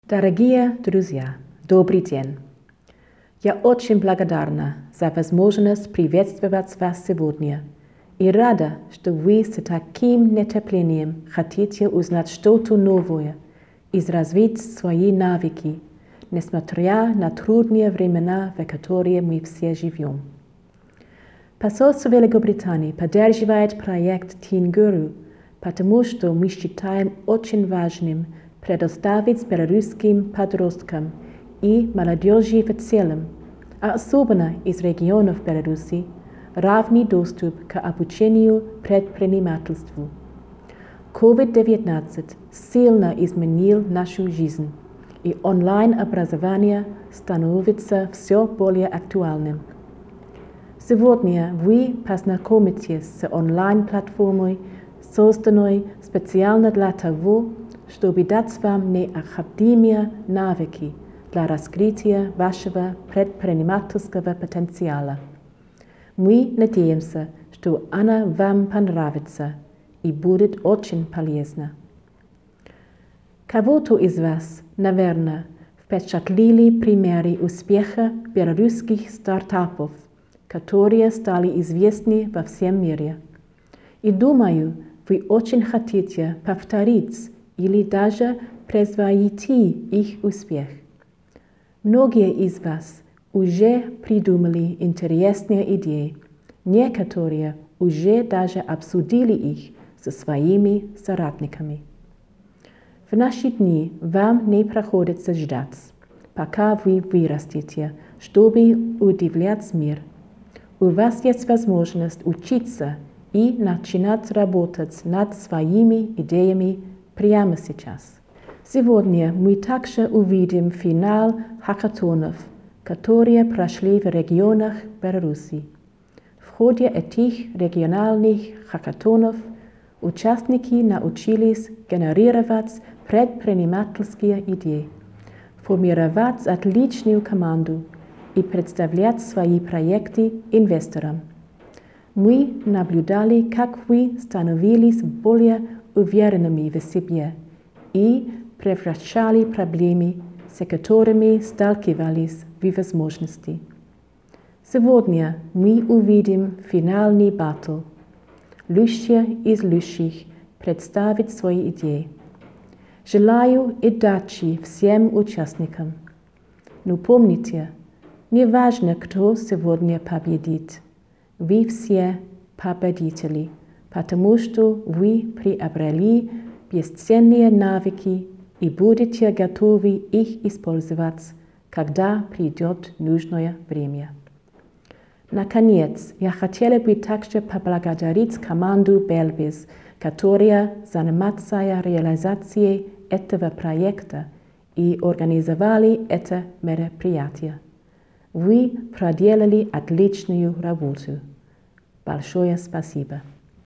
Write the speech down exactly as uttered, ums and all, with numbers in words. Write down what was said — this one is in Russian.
Дорогие друзья, добрый день! Я очень благодарна за возможность приветствовать вас сегодня и рада, что вы с таким нетерпением хотите узнать что-то новое и развить свои навыки, несмотря на трудные времена, в которые мы все живем. Посольство Великобритании поддерживает проект Teen Guru, потому что мы считаем очень важным предоставить белорусским подросткам и молодежи в целом, а особенно из регионов Беларуси, равный доступ к обучению предпринимательству. ковид девятнадцать сильно изменил нашу жизнь, и онлайн-образование становится все более актуальным. Сегодня вы познакомитесь с онлайн-платформой, созданной специально для того, чтобы дать вам необходимые навыки для раскрытия вашего предпринимательского потенциала. Мы надеемся, что она вам понравится и будет очень полезна. Кого-то из вас, наверное, впечатлили примеры успеха белорусских стартапов, которые стали известны во всем мире. И думаю, вы очень хотите повторить или даже превзойти их успех. Многие из вас уже придумали интересные идеи, некоторые уже даже обсудили их со своими соратниками. В наши дни вам не приходится ждать, пока вы вырастете, чтобы удивлять мир. У вас есть возможность учиться и начинать работать над своими идеями прямо сейчас. Сегодня мы также увидим финал хакатонов, которые прошли в регионах Беларуси. В ходе этих региональных хакатонов участники научились генерировать предпринимательские идеи, формировать отличную команду и представлять свои проекты инвесторам. Мы наблюдали, как вы становились более уверенными в себе и превращали проблемы, с которыми сталкивались, в возможности. Сегодня мы увидим финальный батл. Лучшие из лучших представить свои идеи. Желаю удачи всем участникам. Но помните, не важно, кто сегодня победит. Вы все победители, потому что вы приобрели бесценные навыки и будете готовы их использовать, когда придет нужное время. Наконец, я хотела бы также поблагодарить команду Belbiz, которая занимается реализацией этого проекта и организовали это мероприятие. Вы проделали отличную работу. Большое спасибо.